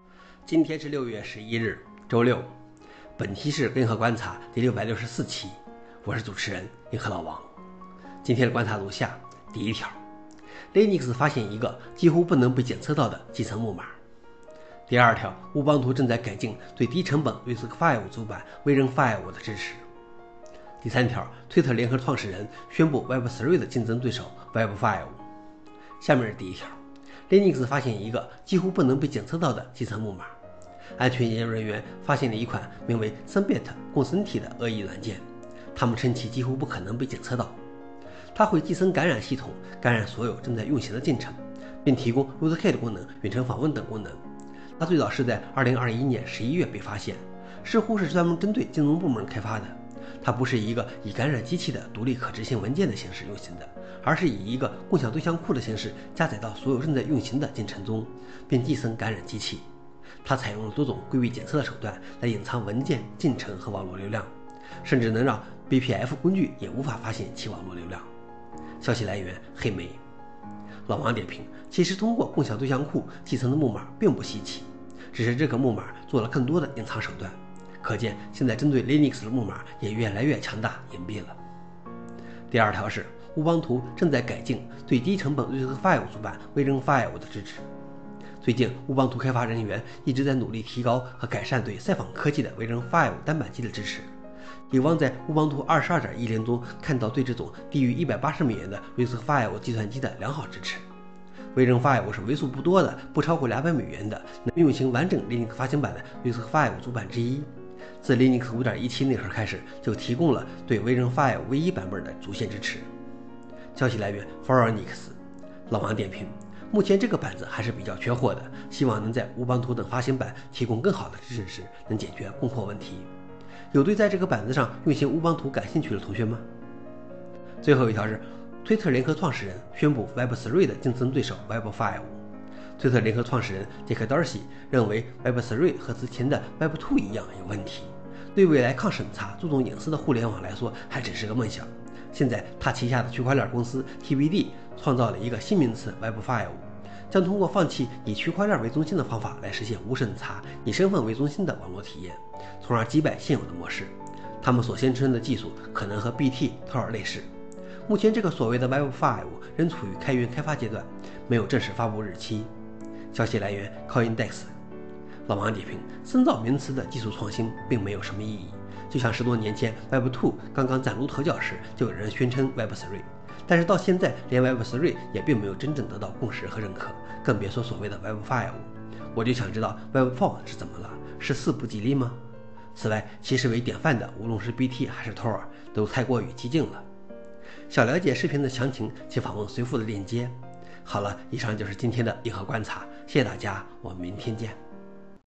今天是6月11日，周六。本期是银河观察第664期，我是主持人银河老王。今天的观察如下：第一条 ，Linux 发现一个几乎不能被检测到的集成木马。第二条，乌邦图正在改进对低成本 RISC-V 主板 Version5 的支持。第三条，推特联合创始人宣布 Web3 的竞争对手 Web5。下面是第一条 ，Linux 发现一个几乎不能被检测到的集成木马。安全研究人员发现了一款名为 3bit 共生体的恶意软件，他们称其几乎不可能被检测到。它会寄生感染系统，感染所有正在运行的进程，并提供 rootkit 功能、远程访问等功能。它最早是在2021年11月被发现，似乎是专门针对金融部门开发的。它不是一个以感染机器的独立可执行文件的形式运行的，而是以一个共享对象库的形式加载到所有正在运行的进程中，并寄生感染机器。它采用了多种规避检测的手段来隐藏文件、进程和网络流量，甚至能让 BPF 工具也无法发现其网络流量。消息来源：黑莓。老王点评：其实通过共享对象库继承的木马并不稀奇，只是这个木马做了更多的隐藏手段。可见现在针对 Linux 的木马也越来越强大隐蔽了。第二条是乌邦图正在改进对低成本 RISC-V 主板 Version5 的支持。最近，乌邦图开发人员一直在努力提高和改善对赛访科技的 Version5 单板机的支持，有望在乌邦图 22.10 中看到对这种低于180美元的 RISC-V 计算机的良好支持。Version5 是为数不多的不超过200美元的能运行完整 Linux 发行版的 RISC-V 主板之一。自 Linux 5.17 内核开始，就提供了对 Version5 唯一版本的主线支持。消息来源 Phoronix。老王点评：目前这个板子还是比较缺货的，希望能在乌邦图等发行版提供更好的支持时，能解决供货问题。有对在这个板子上运行乌邦图感兴趣的同学吗？最后一条是，推特联合创始人宣布 Web3 的竞争对手 Web5。推特联合创始人杰克·道西认为 Web3 和之前的 Web2 一样有问题，对未来抗审查、注重隐私的互联网来说还只是个梦想。现在他旗下的区块链公司 TBD 创造了一个新名词 Web5， 将通过放弃以区块链为中心的方法来实现无审查、以身份为中心的网络体验，从而击败现有的模式。他们所宣称的技术可能和 BT、Tor 类似。目前这个所谓的 Web5 仍处于开源开发阶段，没有正式发布日期。消息来源 CoinDesk。老王点评：深造名词的技术创新并没有什么意义，就像10多年前 Web2 刚刚崭露头角时，就有人宣称 Web3， 但是到现在连 Web3 也并没有真正得到共识和认可，更别说所谓的 Web5。我就想知道 Web4 是怎么了？是4不吉利吗？此外，其实为典范的无论是 BT 还是 Tor 都太过于激进了。想了解视频的详情，请访问随附的链接。好了，以上就是今天的银河观察，谢谢大家，我们明天见。